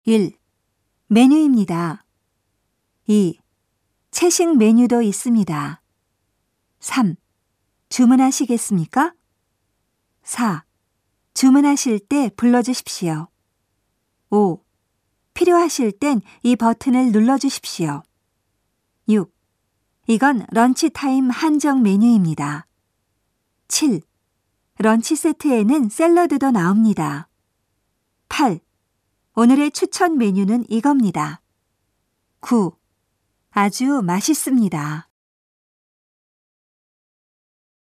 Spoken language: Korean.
1. 메뉴입니다. 2. 채식 메뉴도 있습니다. 3. 주문하시겠습니까? 4. 주문하실 때 불러주십시오. 5. 필요하실 땐 이 버튼을 눌러주십시오. 6. 이건 런치타임 한정 메뉴입니다. 7. 런치 세트에는 샐러드도 나옵니다. 8. 오늘의 추천 메뉴는 이겁니다. 9. 아주 맛있습니다.